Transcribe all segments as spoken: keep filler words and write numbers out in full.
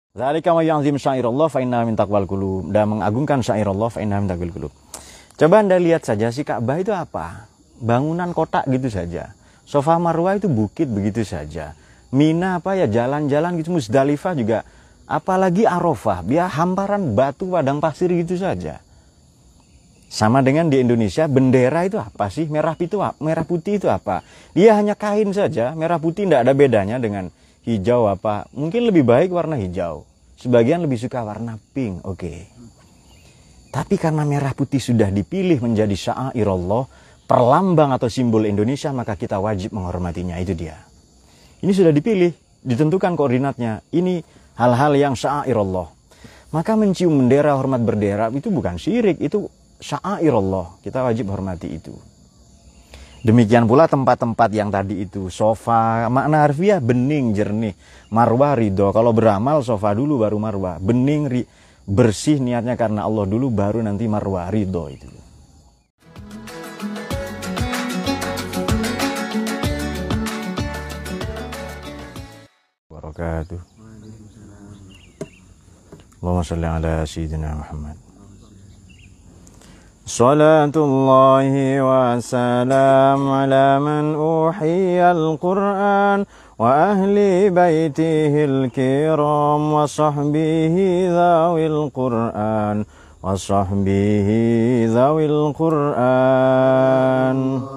Dzalika may ya'zim syairallah fa inna min taqwal qulub. Dan mengagungkan syairallah fa inna min taqwal qulub. Coba Anda lihat saja si Ka'bah itu apa? Bangunan kotak gitu saja. Safa Marwah itu bukit begitu saja. Mina apa ya jalan-jalan gitu, Musdalifah juga. Apalagi Arafah, dia hamparan batu padang pasir gitu saja. Sama dengan di Indonesia, bendera itu apa sih? Merah itu merah putih itu apa? Dia hanya kain saja, merah putih tidak ada bedanya dengan hijau apa. Mungkin lebih baik warna hijau. Sebagian lebih suka warna pink, oke. Okay. Tapi karena merah putih sudah dipilih menjadi syairallah, perlambang atau simbol Indonesia, maka kita wajib menghormatinya, itu dia. Ini sudah dipilih, ditentukan koordinatnya. Ini hal-hal yang syairallah. Maka mencium bendera, hormat bendera itu bukan syirik, itu syairallah, kita wajib hormati itu. Demikian pula tempat-tempat yang tadi itu, sofa, makna harfiah bening, jernih, marwah ridho. Kalau beramal sofa dulu baru marwah, bening, ri, bersih niatnya karena Allah dulu baru nanti marwah ridho itu. Wabarakatuh. Allahumma shalli ala sayyidina Muhammad. Salatullahi wa salam ala man uhiyal Qur'an wa ahli baitihil kiram wa sahbihi dhawil Qur'an wa sahbihi dhawil Qur'an.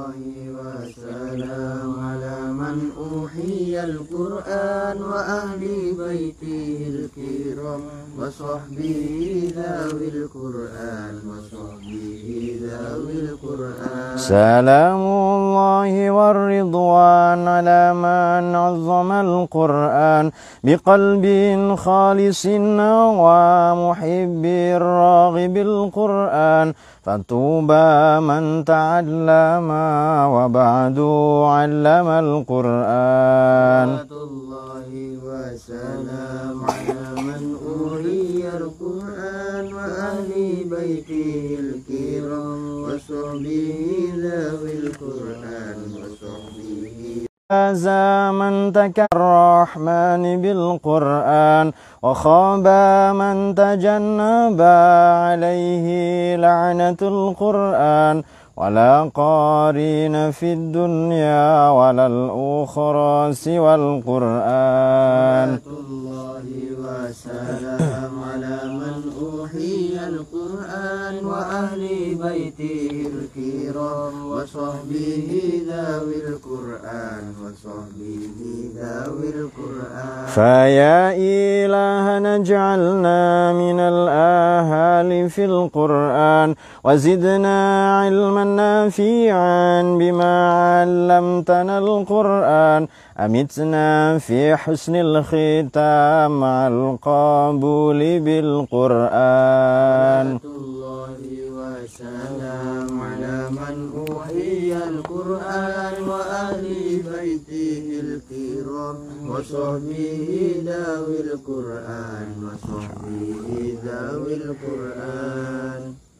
Al-Quran wa ahli baitihil kiram wa sahbihi dhawil Quran wa sahbihi dhawil Quran. Salamullahi warridwan ala man azzama al-Quran biqalbin khalisin wa muhibbir raghibil Quran. Fatuba man ta'allama wa ba'du 'allama al-Quran. Salatullahi wa salam ala man uriya al-Quran wa ahli baitihil kiram wa sahbihi dhawil Quran wa sahbihi zaman takarrahman bil Quran wa khaba man tajannaba alaihi la'natul Quran wala qarina fid dunya walal ukhra siwal Quran. Salatullahi wa salam ala man uhiyal Quran wa ahli baitihil kiram wa sahbihi dhawil Quran wa sahbihi dhawil Quran. Faya ilahana ja'alna minal ahali fil Quran wa zidna ilman nafi'an bima 'allamtana al-Quran. Amitna fi husnil khitam ma'al qabuli bil Quran. Salatullahi wa salam ala man uhiyal Quran wa ahli baitihil kiram wa sahbihi dhawil Quran wa sahbihi dhawil Quran.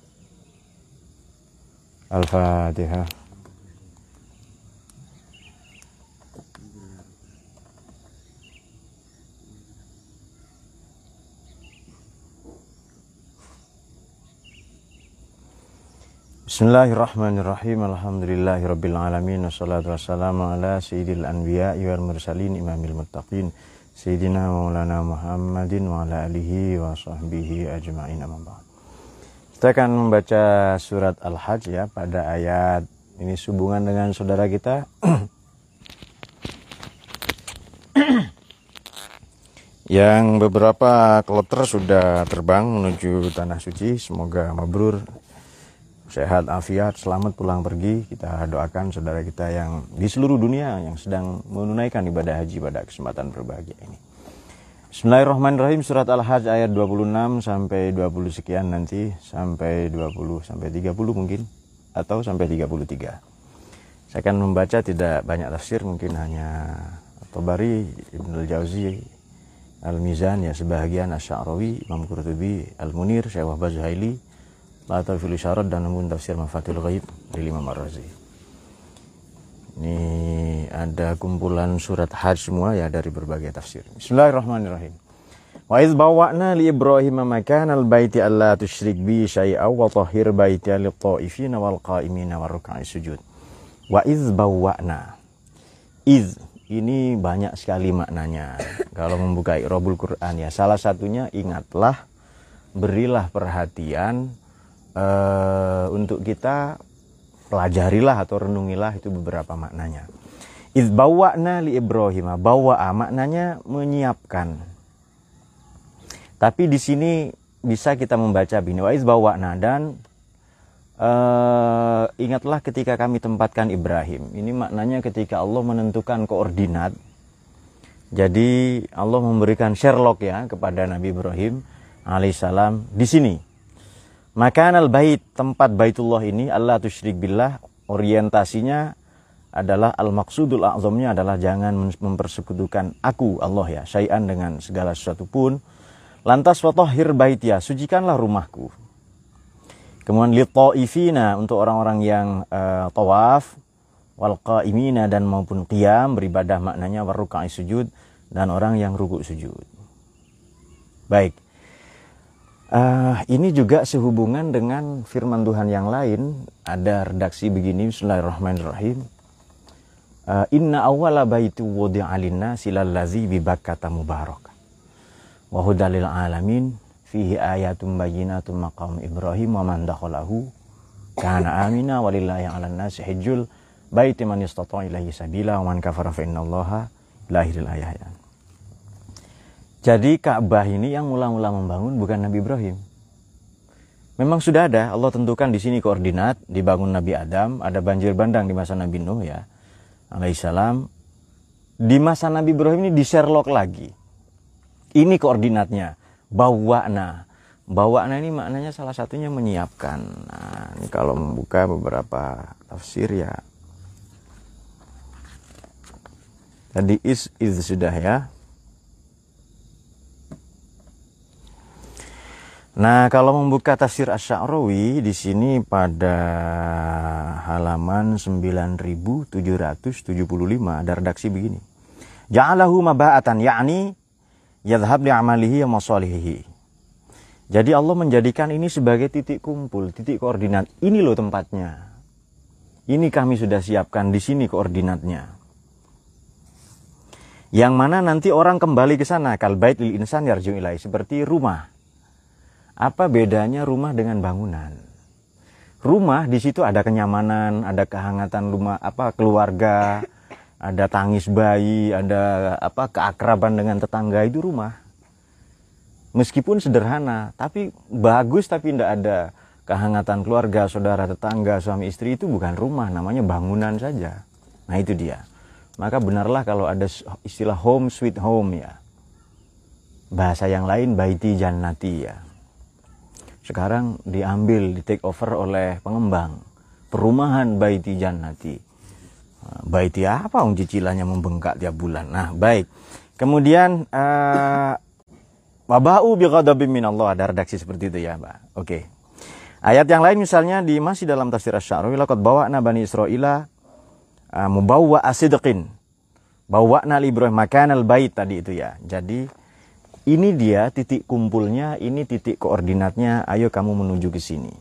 Al-Fatihah. Bismillahirrahmanirrahim. Alhamdulillahirabbil alamin wassalatu wassalamu ala sayyidil anbiya'i wal mursalin imamil muttaqin sayyidina maulana Muhammadin wa ala alihi wa sahbihi ajma'in. Amma ba'd. Kita akan membaca surat Al-Hajj ya pada ayat ini sehubungan dengan saudara kita yang beberapa kloter sudah terbang menuju tanah suci. Semoga mabrur, sehat, afiat, selamat pulang pergi. Kita doakan saudara kita yang di seluruh dunia yang sedang menunaikan ibadah haji pada kesempatan berbahagia ini. Bismillahirrahmanirrahim. Surat Al-Hajj ayat dua puluh enam sampai dua puluh sekian, nanti sampai dua puluh sampai tiga puluh mungkin, atau sampai tiga puluh tiga. Saya akan membaca tidak banyak tafsir, mungkin hanya Tabari, Ibnul Jauzi, Al-Mizan ya sebahagian, Asy-Sya'rawi, Imam Qurtubi, Al-Munir, Syekh Wahbah Zuhaili, Latafil Isyarat, dan namun tafsir Mafathul Ghaib dari Imam Ar-Razi. Ini ada kumpulan surat Hajj semua ya dari berbagai tafsir. Bismillahirrahmanirrahim. Wa iz bawwa'na li Ibrahim makanal baiti alla tusyrik bi syai'a wa tahhir baiti lit-ta'ifina wal qa'imina war ruk'i sujud. Wa iz bawwa'na. Iz ini banyak sekali maknanya. Kalau membuka i'rabul Quran ya, salah satunya ingatlah, berilah perhatian uh, untuk kita pelajarilah atau renungilah itu beberapa maknanya. Iz bawwa'na li Ibrahim, bawa'a maknanya menyiapkan. Tapi di sini bisa kita membaca bini wa iz bawwa'na, dan uh, ingatlah ketika kami tempatkan Ibrahim. Ini maknanya ketika Allah menentukan koordinat. Jadi Allah memberikan Sherlock ya kepada Nabi Ibrahim alaihissalam di sini. Makanal bait, tempat Baitullah ini, Allah tusyrik billah, orientasinya adalah al-maqsudul a'zamnya adalah jangan mempersekutukan aku Allah ya, syai'an dengan segala sesuatu pun. Lantas watahhir baitiya, sucikanlah rumahku. Kemudian lit-ta'ifina, untuk orang-orang yang uh, tawaf, wal qa'imina, dan maupun qiyam beribadah, maknanya war ruk'i sujud, dan orang yang rukuk sujud. Baik. Uh, ini juga sehubungan dengan firman Tuhan yang lain. Ada redaksi begini, bismillahirrahmanirrahim. Uh, Inna awwala baitu wudi'a lin-nasi lallazi bi Bakkata mubarak. Wa hudalil alamin fihi ayatum bayyinatum maqam Ibrahim wa man dakhalahu kana amina walillahi 'alan nasi hajjul baiti man istata'a ilaihi sabila wa man kafara fa innallaha lahiril ayat. Jadi Ka'bah ini yang mula-mula membangun bukan Nabi Ibrahim. Memang sudah ada, Allah tentukan di sini koordinat, dibangun Nabi Adam, ada banjir bandang di masa Nabi Nuh ya alaihissalam. Di masa Nabi Ibrahim ini di Sherlock lagi. Ini koordinatnya, bawa'na. Bawa'na ini maknanya salah satunya menyiapkan. Nah, ini kalau membuka beberapa tafsir ya. Tadi is, is sudah ya. Nah, kalau membuka tafsir Asy-Sya'rawi di sini pada halaman sembilan ribu tujuh ratus tujuh puluh lima ada redaksi begini. Ja'alahu maba'atan, yakni yadhhab li'amalihi wa masalihihi. Jadi Allah menjadikan ini sebagai titik kumpul, titik koordinat. Ini loh tempatnya. Ini kami sudah siapkan di sini koordinatnya. Yang mana nanti orang kembali ke sana, kal bait lil insan yarju ilai, seperti rumah. Apa bedanya rumah dengan bangunan? Rumah di situ ada kenyamanan, ada kehangatan rumah apa keluarga, ada tangis bayi, ada apa keakraban dengan tetangga, itu rumah. Meskipun sederhana, tapi bagus, tapi tidak ada kehangatan keluarga, saudara, tetangga, suami istri, itu bukan rumah, namanya bangunan saja. Nah itu dia. Maka benarlah kalau ada istilah home sweet home ya. Bahasa yang lain baiti jannati ya. Sekarang diambil, di take over oleh pengembang. Perumahan baiti jannati. Baiti apa? Om cicilannya membengkak tiap bulan. Nah, baik. Kemudian uh, wabau bi ghadabim minallah, ada redaksi seperti itu ya, Mbak. Oke. Okay. Ayat yang lain misalnya di masih dalam tafsir Asy-Sya'rawi, laqad bawa'na bani Israila uh, mubawwa asidqin. Bawa'na li Ibrahim makanal bait tadi itu ya. Jadi ini dia titik kumpulnya, ini titik koordinatnya. Ayo kamu menuju ke sini.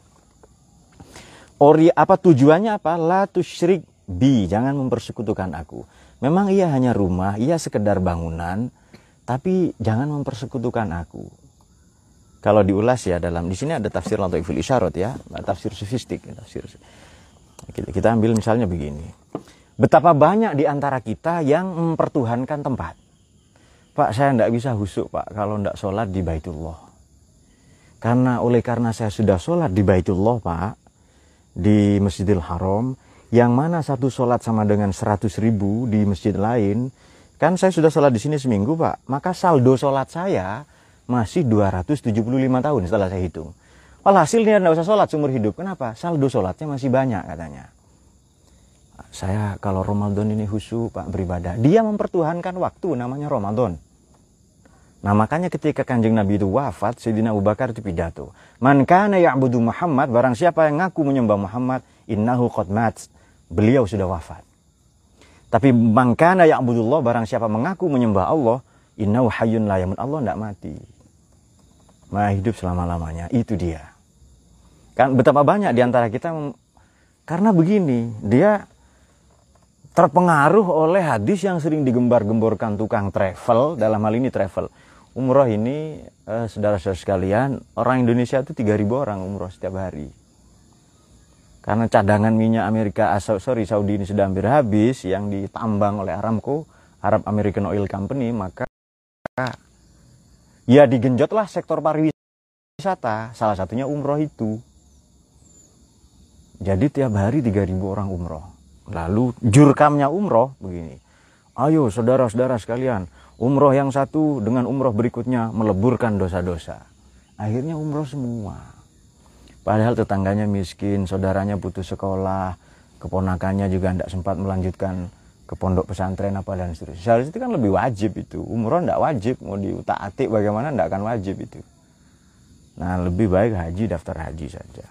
Ori apa tujuannya apa? La tusyrik bi, jangan mempersekutukan aku. Memang ia hanya rumah, ia sekedar bangunan, tapi jangan mempersekutukan aku. Kalau diulas ya dalam di sini ada tafsir Lataiful Isyarat ya, tafsir sofistik, tafsir. Kita ambil misalnya begini. Betapa banyak di antara kita yang mempertuhankan tempat. Pak, saya tidak bisa husuk Pak kalau tidak sholat di Baitullah. Karena oleh karena saya sudah sholat di Baitullah Pak, di Masjidil Haram, yang mana satu sholat sama dengan seratus ribu di masjid lain, kan saya sudah sholat di sini seminggu Pak, maka saldo sholat saya masih dua ratus tujuh puluh lima tahun setelah saya hitung. Walhasilnya tidak usah sholat seumur hidup. Kenapa? Saldo sholatnya masih banyak katanya. Saya kalau Ramadan ini khusyuk Pak beribadah. Dia mempertuhankan waktu, namanya Ramadan. Nah makanya ketika Kanjeng Nabi itu wafat, Sayyidina Abu Bakar itu pidato. Man kana ya'budu Muhammad, barang siapa yang ngaku menyembah Muhammad, innahu qad mat. Beliau sudah wafat. Tapi man kana ya'budullah, barang siapa mengaku menyembah Allah, innahu hayyun la yamut. Allah tidak mati. Maha hidup selama-lamanya. Itu dia. Kan betapa banyak diantara kita, karena begini, dia terpengaruh oleh hadis yang sering digembar-gemborkan tukang travel, dalam hal ini travel. Umroh ini, eh, saudara-saudara sekalian, orang Indonesia itu tiga ribu orang umroh setiap hari. Karena cadangan minyak Amerika, sorry Saudi ini sudah hampir habis, yang ditambang oleh Aramco, Arab American Oil Company, maka ya digenjotlah sektor pariwisata, salah satunya umroh itu. Jadi tiap hari tiga ribu orang umroh. Lalu jurkamnya umroh begini, ayo saudara-saudara sekalian, umroh yang satu dengan umroh berikutnya meleburkan dosa-dosa. Akhirnya umroh semua. Padahal tetangganya miskin, saudaranya putus sekolah, keponakannya juga tidak sempat melanjutkan ke pondok pesantren apa dan seterusnya. Seharusnya itu kan lebih wajib itu. Umroh tidak wajib, mau diutak-atik bagaimana tidak akan wajib itu. Nah, lebih baik haji, daftar haji saja.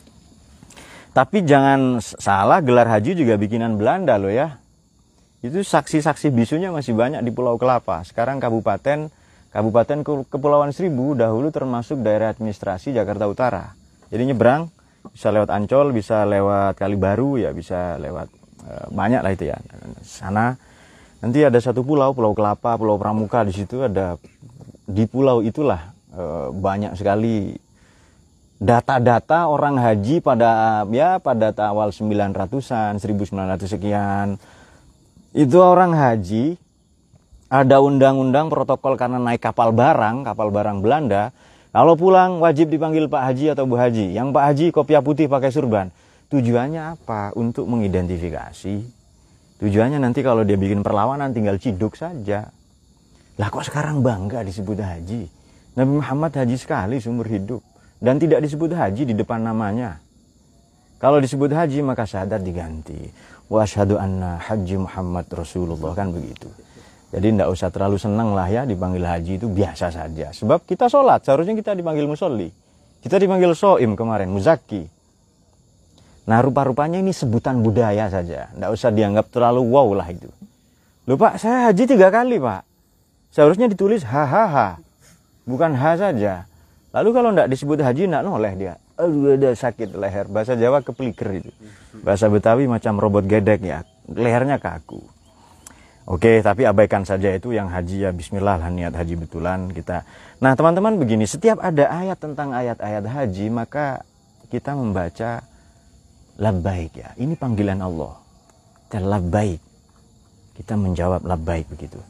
Tapi jangan salah, gelar haji juga bikinan Belanda loh ya. Itu saksi-saksi bisunya masih banyak di Pulau Kelapa. Sekarang kabupaten Kabupaten Kepulauan Seribu dahulu termasuk daerah administrasi Jakarta Utara. Jadi nyebrang bisa lewat Ancol, bisa lewat Kalibaru, ya bisa lewat e, banyak lah itu ya. Sana nanti ada satu pulau, Pulau Kelapa, Pulau Pramuka, di situ ada, di pulau itulah e, banyak sekali data-data orang haji pada ya pada awal sembilan ratusan, seribu sembilan ratus sekian. Itu orang haji, ada undang-undang protokol karena naik kapal barang, kapal barang Belanda. Kalau pulang wajib dipanggil Pak Haji atau Bu Haji. Yang Pak Haji kopiah putih pakai surban. Tujuannya apa? Untuk mengidentifikasi. Tujuannya nanti kalau dia bikin perlawanan tinggal ciduk saja. Lah kok sekarang bangga disebut haji? Nabi Muhammad haji sekali seumur hidup. Dan tidak disebut haji di depan namanya. Kalau disebut haji maka syahadat diganti. Wa asyhadu anna haji Muhammad Rasulullah, kan begitu. Jadi tidak usah terlalu senang lah ya dipanggil haji, itu biasa saja. Sebab kita sholat, seharusnya kita dipanggil musolli. Kita dipanggil soim kemarin, muzaki. Nah rupa-rupanya ini sebutan budaya saja. Tidak usah dianggap terlalu wow lah itu. Loh Pak, saya haji tiga kali Pak. Seharusnya ditulis ha-ha-ha. Bukan ha saja. Lalu kalau tidak disebut haji, tidak noleh dia. Aduh, ada sakit leher. Bahasa Jawa kepeliker itu. Bahasa Betawi macam robot gedek ya. Lehernya kaku. Oke, tapi abaikan saja itu yang haji ya bismillah lah, niat haji betulan kita. Nah teman-teman begini, setiap ada ayat tentang ayat-ayat haji maka kita membaca labbaik ya. Ini panggilan Allah. Kita labbaik. Kita menjawab labbaik begitu.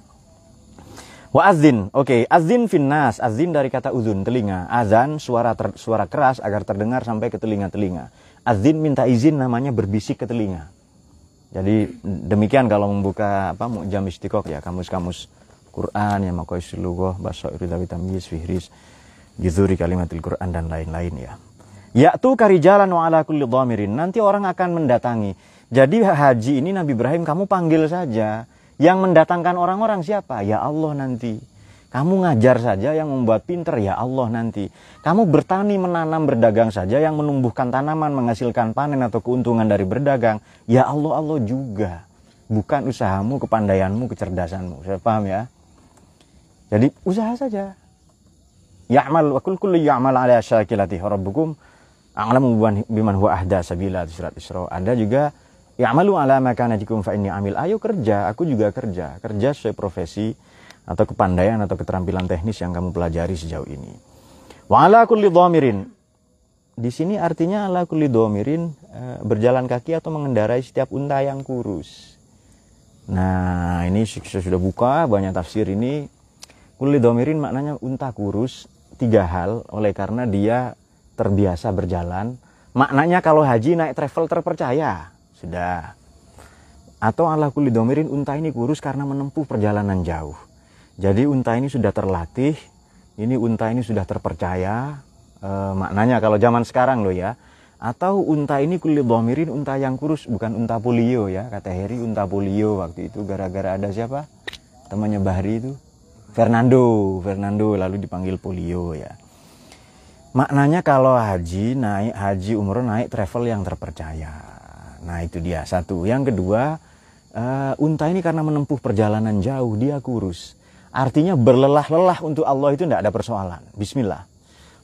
Wa azin, oke, azin finnas, azin dari kata uzun, telinga. Azan suara ter, suara keras agar terdengar sampai ke telinga-telinga. Azin minta izin namanya berbisik ke telinga. Jadi demikian kalau membuka apa Mu'jam Istiqaq ya, kamus-kamus Quran ya, Maqayisul Lughah, Basairul Tamyiz, Fihris, Juzuri Kalimatil Quran dan lain-lain ya. Ya'tu karijalan wa ala kulli dhamirin. Nanti orang akan mendatangi. Jadi haji ini Nabi Ibrahim kamu panggil saja. Yang mendatangkan orang-orang siapa? Ya Allah nanti. Kamu ngajar saja yang membuat pinter, ya Allah nanti. Kamu bertani, menanam, berdagang saja yang menumbuhkan tanaman, menghasilkan panen atau keuntungan dari berdagang. Ya Allah, Allah juga. Bukan usahamu, kepandaianmu, kecerdasanmu. Saya paham ya? Jadi usaha saja. Ya'mal wa kul kullu ya'mal ala syakilati rabbukum a'lamu biman huwa ahda sabila, surat Isra. Ada juga ya'malu ala makanatikum fa inni amil. Ayo kerja, aku juga kerja. Kerja sesuai profesi atau kepandaian atau keterampilan teknis yang kamu pelajari sejauh ini. Wa ala kulli dhamirin. Di sini artinya ala kulli dhamirin e, berjalan kaki atau mengendarai setiap unta yang kurus. Nah, ini saya sudah buka banyak tafsir ini. Kulli dhamirin maknanya unta kurus, tiga hal oleh karena dia terbiasa berjalan. Maknanya kalau haji naik travel terpercaya, sudah. Atau ala kulli dhamirin unta ini kurus karena menempuh perjalanan jauh. Jadi unta ini sudah terlatih, ini unta ini sudah terpercaya, e, maknanya kalau zaman sekarang loh ya. Atau unta ini kulli dhamirin, unta yang kurus, bukan unta polio ya. Kata Heri unta polio waktu itu gara-gara ada siapa? Temannya Bahri itu, Fernando, Fernando lalu dipanggil polio ya. Maknanya kalau haji, naik haji umroh naik travel yang terpercaya. Nah itu dia satu. Yang kedua, e, unta ini karena menempuh perjalanan jauh, dia kurus. Artinya berlelah-lelah untuk Allah itu tidak ada persoalan. Bismillah.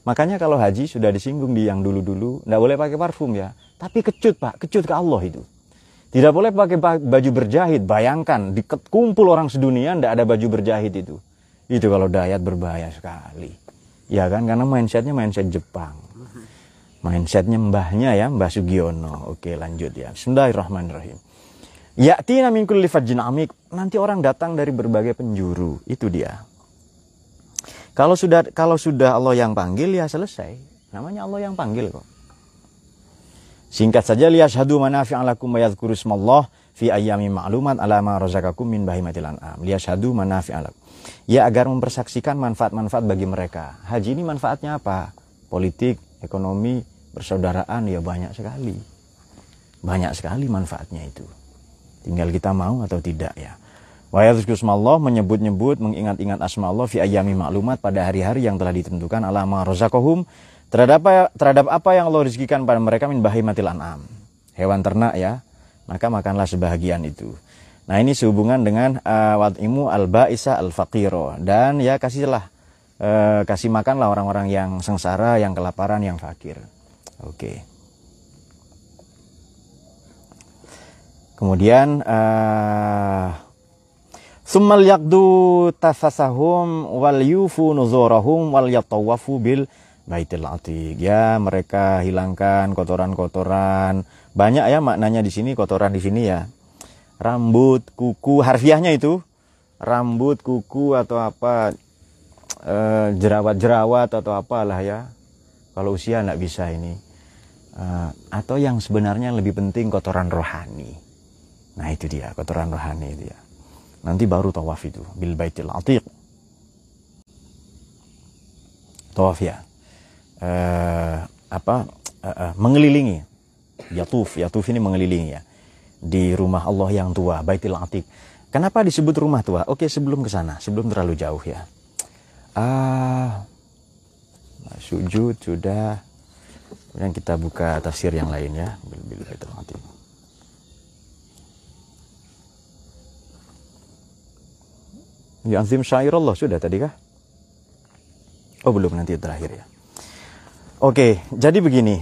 Makanya kalau haji sudah disinggung di yang dulu-dulu, nggak boleh pakai parfum ya. Tapi kecut Pak, kecut ke Allah itu. Tidak boleh pakai baju berjahit. Bayangkan, dikumpul orang sedunia nggak ada baju berjahit itu. Itu kalau dayat berbahaya sekali. Ya kan, karena mindsetnya mindset Jepang. Mindsetnya mbahnya ya, Mbah Sugiono. Oke lanjut ya. Bismillahirrahmanirrahim. Ya'tina min kulli fajjin amik. Nanti orang datang dari berbagai penjuru. Itu dia. Kalau sudah kalau sudah Allah yang panggil ya selesai. Namanya Allah yang panggil kok. Singkat saja, liyashhadu manafi'a lakum wa yadhkuru ismallah fi ayyamin ma'lumat ala ma razaqakum min bahimatil an'am. Liyashhadu manafi'a lakum. Ya agar mempersaksikan manfaat-manfaat bagi mereka. Haji ini manfaatnya apa? Politik, ekonomi, persaudaraan ya banyak sekali. Banyak sekali manfaatnya itu. Tinggal kita mau atau tidak ya. Wa yadhkuru ismallah, menyebut-nyebut, mengingat-ingat asma Allah fi ayyamin ma'lumat pada hari-hari yang telah ditentukan ala ma razaqahum. Terhadap apa, terhadap apa yang Allah rezekikan pada mereka min bahimatil an'am. Hewan ternak ya. Maka makanlah sebahagian itu. Nah ini sehubungan dengan uh, wad'imu al-ba'isa al-faqiro. Dan ya kasihlah, uh, kasih makanlah orang-orang yang sengsara, yang kelaparan, yang fakir. Oke. Kemudian uh, summal yaqdu tafasahum wal yufu nuzurahum wal yatawafu bil baitil atiq. Ya, mereka hilangkan kotoran-kotoran. Banyak ya maknanya di sini, kotoran di sini ya. Rambut, kuku, harfiahnya itu rambut, kuku atau apa, e, jerawat-jerawat atau apalah ya. Kalau usia enggak bisa ini. E, atau yang sebenarnya lebih penting kotoran rohani. Nah, itu dia, kotoran rohani itu ya. Nanti baru tawaf itu bil baitil atiq. Tawaf ya. Uh, apa uh, uh, mengelilingi, yatuf, yatuf ini mengelilingi ya, di rumah Allah yang tua, Baitul Atiq. Kenapa disebut rumah tua? Oke, sebelum ke sana, sebelum terlalu jauh ya. Ah, uh, sujud sudah. Kemudian kita buka tafsir yang lain ya, bil Baitul Atiq. Ya azim syairallah sudah tadi kah? Oh belum, nanti terakhir ya. Oke, jadi begini.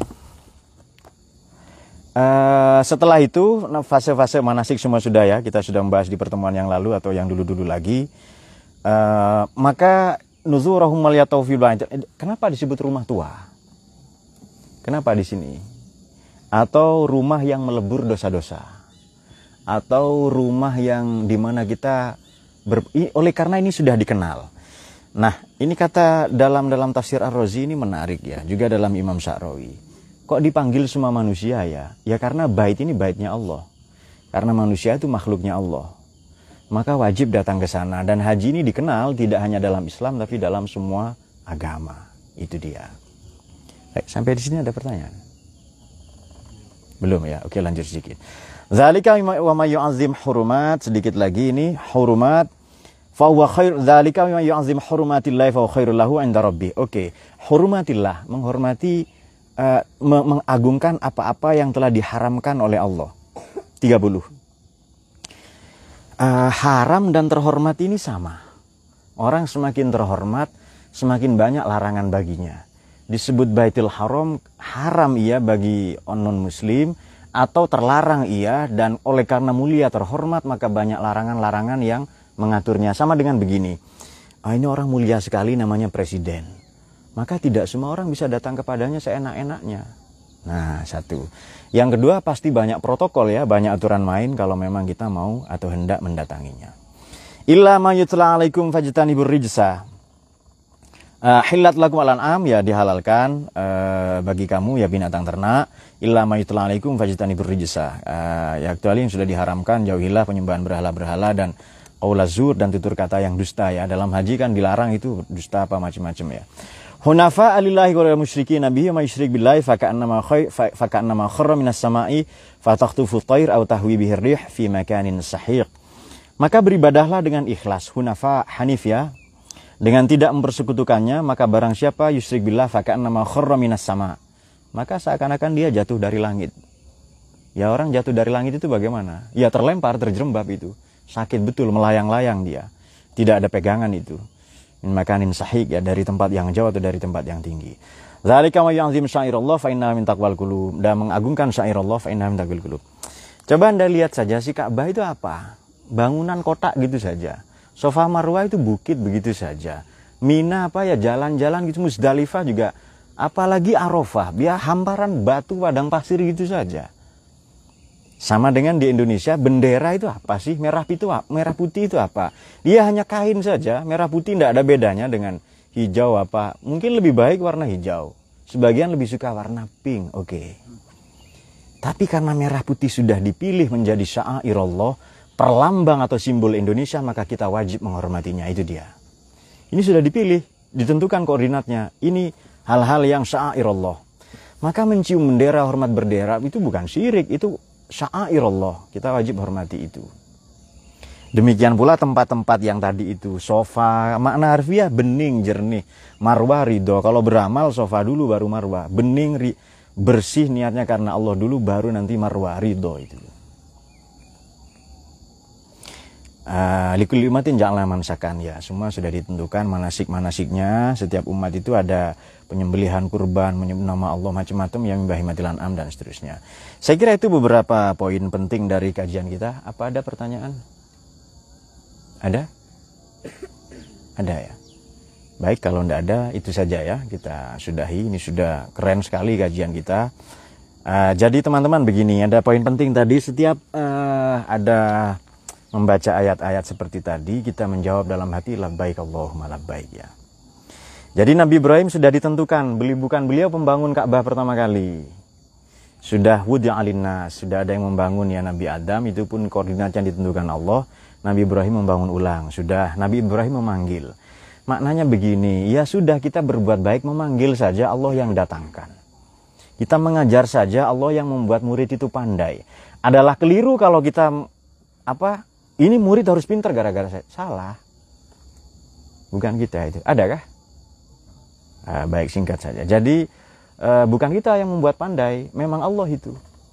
Uh, setelah itu fase-fase manasik semua sudah ya, kita sudah membahas di pertemuan yang lalu atau yang dulu-dulu lagi. Uh, maka nuzurahum wal yatawfil bait. Kenapa disebut rumah tua? Kenapa di sini? Atau rumah yang melebur dosa-dosa? Atau rumah yang dimana kita ber, oleh karena ini sudah dikenal. Nah, ini kata dalam dalam tafsir Ar-Razi ini menarik ya, juga dalam Imam Sya'rawi. Kok dipanggil semua manusia ya? Ya karena bait ini baitnya Allah. Karena manusia itu makhluknya Allah. Maka wajib datang ke sana, dan haji ini dikenal tidak hanya dalam Islam tapi dalam semua agama. Itu dia. Baik, sampai di sini ada pertanyaan? Belum ya? Oke, lanjut sedikit. Zalika wa may yu'azzim hurumat, sedikit lagi ini hurumat. Fa huwa khair dzalika wa yu'azzim hurumatillahi fa huwa khairul lahu 'inda rabbih. Oke, hurumatillah, menghormati, uh, mengagungkan apa-apa yang telah diharamkan oleh Allah. tiga puluh. Uh, haram dan terhormat ini sama. Orang semakin terhormat, semakin banyak larangan baginya. Disebut Baitul Haram, haram ia bagi non-muslim, atau terlarang ia, dan oleh karena mulia terhormat maka banyak larangan-larangan yang mengaturnya. Sama dengan begini, ah, ini orang mulia sekali namanya presiden, maka tidak semua orang bisa datang kepadanya seenak-enaknya. Nah, satu. Yang kedua, pasti banyak protokol ya, banyak aturan main kalau memang kita mau atau hendak mendatanginya. Illa ma yutla alaikum fajtanibur rijsa. Uh, hillat lakum al-an'am, ya dihalalkan uh, bagi kamu ya binatang ternak. Illa ma yutla alaikum fajtanibur rijsa. Uh, ya kecuali yang sudah diharamkan, jauhilah penyembahan berhala-berhala dan qaulazur dan tutur kata yang dusta ya. Dalam haji kan dilarang itu dusta apa macam-macam ya. Hunafa alillahi wa musyrikin nabiy ma yusyrik billahi fa ka'annama khay fa ka'annama kharra minas sama'i fa takhtufu at-tayr aw tahwi bihi ar-rih fi makanin sahiq. Maka beribadahlah dengan ikhlas, hunafa hanif ya, dengan tidak mempersekutukannya. Maka barang siapa yusyrik billah fa ka'annama kharra minas sama', maka seakan-akan dia jatuh dari langit. Ya, orang jatuh dari langit itu bagaimana? Ya terlempar, terjerembab itu. Sakit betul, melayang-layang dia. Tidak ada pegangan itu. min makanin sahih, ya dari tempat yang jauh atau dari tempat yang tinggi. Dzalika may yu'azzim syairallah fa innaha min taqwal qulub. Dan mengagungkan syairallah fa innaha min taqwal qulub. Coba Anda lihat saja si Ka'bah itu apa? Bangunan kotak gitu saja. Safa Marwah itu bukit begitu saja. Mina apa ya, jalan-jalan gitu. Musdalifah juga, apalagi Arafah, biar hamparan batu padang pasir gitu saja. Sama dengan di Indonesia, bendera itu apa sih? Merah itu merah putih itu apa? Dia hanya kain saja, merah putih tidak ada bedanya dengan hijau apa. Mungkin lebih baik warna hijau. Sebagian lebih suka warna pink, oke. Okay. Tapi karena merah putih sudah dipilih menjadi syairallah, perlambang atau simbol Indonesia, maka kita wajib menghormatinya, itu dia. Ini sudah dipilih, ditentukan koordinatnya. Ini hal-hal yang syairallah. Maka mencium bendera, hormat bendera itu bukan syirik, itu syairallah, kita wajib hormati itu. Demikian pula tempat-tempat yang tadi itu, sofa, makna harfiah bening, jernih, marwah ridho. Kalau beramal sofa dulu baru marwah, bening, ri, bersih niatnya karena Allah dulu baru nanti marwah ridho itu. Uh, likul umatin ja'ala mansakan, ya semua sudah ditentukan manasik-manasiknya. Setiap umat itu ada penyembelihan kurban, menyebut nama Allah macam-macam yang bahimatil an'am dan seterusnya. Saya kira itu beberapa poin penting dari kajian kita. Apa ada pertanyaan? Ada? Ada ya? Baik, kalau tidak ada itu saja ya, kita sudahi. Ini sudah keren sekali kajian kita. Uh, jadi teman-teman begini, ada poin penting tadi. Setiap uh, ada membaca ayat-ayat seperti tadi, kita menjawab dalam hati labbaik Allahumma labbaik ya. Jadi Nabi Ibrahim sudah ditentukan, beli bukan beliau pembangun Ka'bah pertama kali. Sudah wudya alinnas, sudah ada yang membangun ya Nabi Adam, itu pun koordinat yang ditentukan Allah. Nabi Ibrahim membangun ulang, sudah Nabi Ibrahim memanggil. Maknanya begini, ya sudah kita berbuat baik memanggil saja, Allah yang datangkan. Kita mengajar saja, Allah yang membuat murid itu pandai. Adalah keliru kalau kita apa? Ini murid harus pintar gara-gara saya. Salah. Bukan kita itu. Adakah? Nah, baik, singkat saja. Jadi uh, bukan kita yang membuat pandai, memang Allah itu.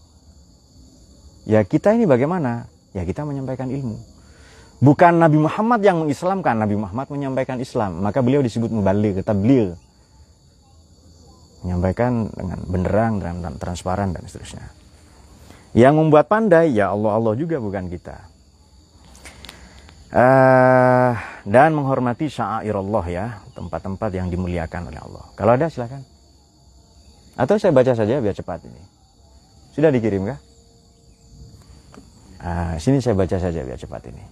Ya kita ini bagaimana? Ya kita menyampaikan ilmu. Bukan Nabi Muhammad yang mengislamkan, Nabi Muhammad menyampaikan Islam. Maka beliau disebut mubaligh, tabligh. Menyampaikan dengan benderang dan transparan dan seterusnya. Yang membuat pandai ya Allah, Allah juga, bukan kita. Uh, dan menghormati syairallah ya, tempat-tempat yang dimuliakan oleh Allah. Kalau ada silakan. Atau saya baca saja biar cepat ini. Sudah dikirim kah? Uh, sini saya baca saja biar cepat ini.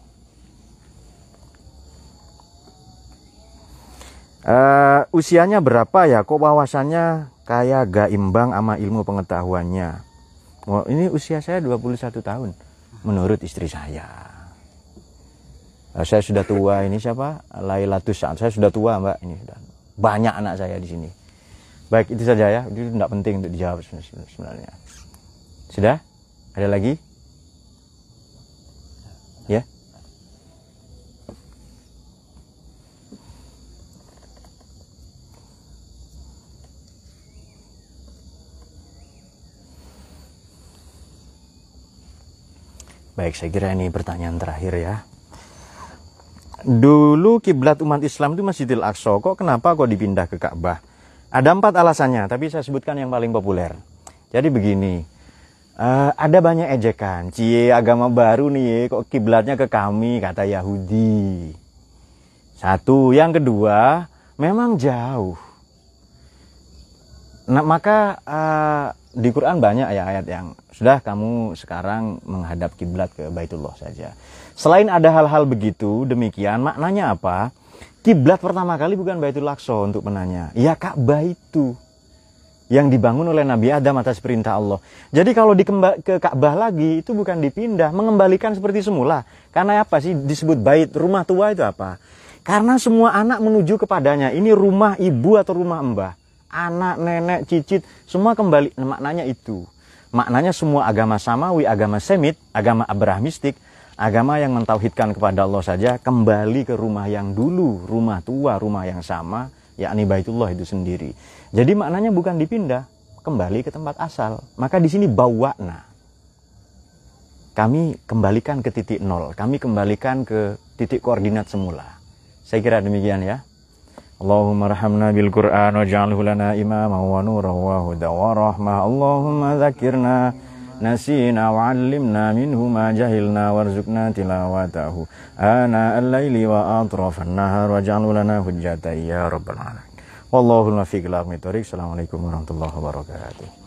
Uh, usianya berapa ya? Kok wawasannya kayak gak imbang sama ilmu pengetahuannya? Oh, ini usia saya dua puluh satu tahun menurut istri saya. Saya sudah tua, ini siapa? Lailatus Saad. Saya sudah tua, Mbak. Ini sudah banyak anak saya di sini. Baik, itu saja ya. Itu tidak penting untuk dijawab sebenarnya. Sudah? Ada lagi? Ya? Baik, saya kira ini pertanyaan terakhir ya. Dulu kiblat umat Islam itu Masjidil Aqsa, kok kenapa kok dipindah ke Ka'bah? Ada empat alasannya, tapi saya sebutkan yang paling populer. Jadi begini, uh, ada banyak ejekan, cie agama baru nih, kok kiblatnya ke kami, kata Yahudi. Satu, yang kedua, memang jauh. Nah, maka uh, di Quran banyak ya ayat yang sudah kamu sekarang menghadap kiblat ke Baitullah saja. Selain ada hal-hal begitu, demikian maknanya apa? Kiblat pertama kali bukan Baitul Aqsa untuk penanya. Ya Ka'bah itu yang dibangun oleh Nabi Adam atas perintah Allah. Jadi kalau dikembali ke Ka'bah lagi itu bukan dipindah, mengembalikan seperti semula. Karena apa sih disebut bait, rumah tua itu apa? Karena semua anak menuju kepadanya. Ini rumah ibu atau rumah mbah. Anak, nenek, cicit, semua kembali. Nah, maknanya itu. Maknanya semua agama samawi, agama semit, agama abrahamistik, agama yang mentauhidkan kepada Allah saja kembali ke rumah yang dulu, rumah tua, rumah yang sama, yakni Baitullah itu sendiri. Jadi maknanya bukan dipindah, kembali ke tempat asal. Maka di sini bawa'na. Kami kembalikan ke titik nol, kami kembalikan ke titik koordinat semula. Saya kira demikian ya. Allahumma rahamna bil Qur'an waj'alhu lana imama wa nuran wa huda wa rahmah. Allahumma dzakirna nasina wa'allimna minhu ma jahilna warzuqna tilawatahu ana al-laili wa atrafan nahar waj'alhu lana hujjatan ya rabbal alamin. Wallahul muwaffiq ila aqwamit thoriq. Assalamualaikum warahmatullahi wabarakatuh.